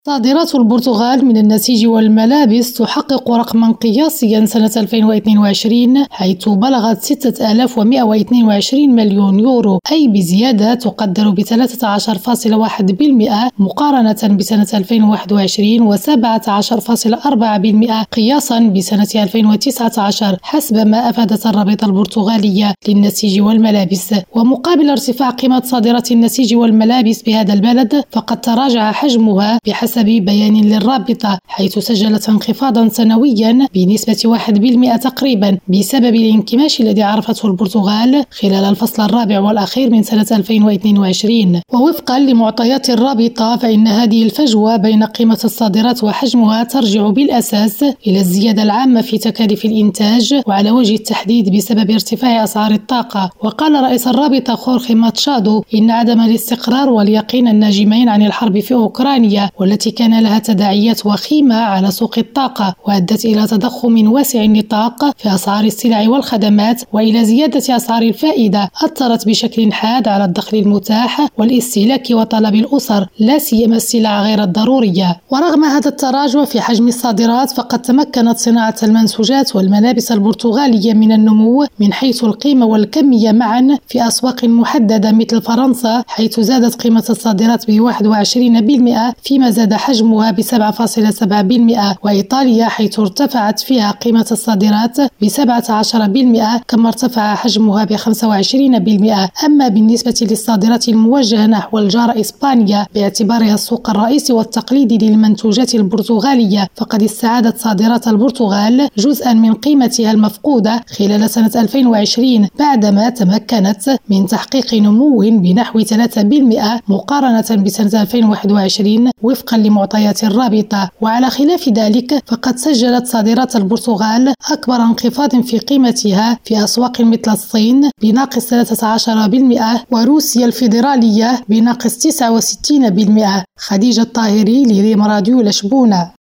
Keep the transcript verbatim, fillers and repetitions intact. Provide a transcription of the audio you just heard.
صادرات البرتغال من النسيج والملابس تحقق رقما قياسيا سنة ألفين واثنين وعشرين، حيث بلغت ستة آلاف ومئة واثنين وعشرين مليون يورو، أي بزيادة تقدر ب ثلاثة عشر فاصلة واحد بالمئة مقارنة بسنة ألفين وواحد وعشرين وسبعة عشر فاصلة أربعة بالمئة قياسا بسنة ألفين وتسعة عشر، حسب ما أفادت الرابطة البرتغالية للنسيج والملابس. ومقابل ارتفاع قيمة صادرات النسيج والملابس بهذا البلد، فقد تراجع حجمها بحسب حسب بيان للرابطة، حيث سجلت انخفاضا سنويا بنسبة واحد بالمئة تقريبا بسبب الانكماش الذي عرفته البرتغال خلال الفصل الرابع والأخير من سنة ألفين واثنين وعشرين. ووفقا لمعطيات الرابطة، فإن هذه الفجوة بين قيمة الصادرات وحجمها ترجع بالأساس إلى الزيادة العامة في تكاليف الإنتاج، وعلى وجه التحديد بسبب ارتفاع أسعار الطاقة. وقال رئيس الرابطة خورخي ماتشادو إن عدم الاستقرار واليقين الناجمين عن الحرب في أوكرانيا، والتي كان لها تداعيات وخيمة على سوق الطاقة وأدت إلى تضخم واسع النطاق في أسعار السلع والخدمات وإلى زيادة أسعار الفائدة، أثرت بشكل حاد على الدخل المتاح والاستهلاك وطلب الأسر، لا سيما السلع غير الضرورية. ورغم هذا التراجع في حجم الصادرات، فقد تمكنت صناعة المنسوجات والملابس البرتغالية من النمو من حيث القيمة والكمية معا في أسواق محددة مثل فرنسا، حيث زادت قيمة الصادرات ب واحد وعشرين بالمئة فيما زاد حجمها ب سبعة فاصلة سبعة بالمئة، وإيطاليا حيث ارتفعت فيها قيمة الصادرات ب سبعة عشر بالمئة كما ارتفع حجمها ب خمسة وعشرين بالمئة. أما بالنسبة للصادرات الموجهة نحو الجارة إسبانيا باعتبارها السوق الرئيسي والتقليدي للمنتوجات البرتغالية، فقد استعادت صادرات البرتغال جزءا من قيمتها المفقودة خلال سنة ألفين وعشرين بعدما تمكنت من تحقيق نمو بنحو ثلاثة بالمئة مقارنة بسنة ألفين وواحد وعشرين وفقا لمعطيات الرابطة. وعلى خلاف ذلك، فقد سجلت صادرات البرتغال أكبر انخفاض في قيمتها في أسواق مثل الصين بناقص ثلاثة عشر بالمئة وروسيا الفيدرالية بناقص تسعة وستين بالمئة. خديجة الطاهري لريم راديو لشبونة.